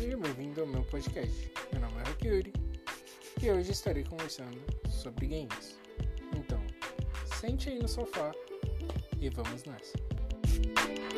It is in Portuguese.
Seja bem-vindo ao meu podcast. Meu nome é Hakiuri e hoje estarei conversando sobre games. Então, sente aí no sofá e vamos nessa.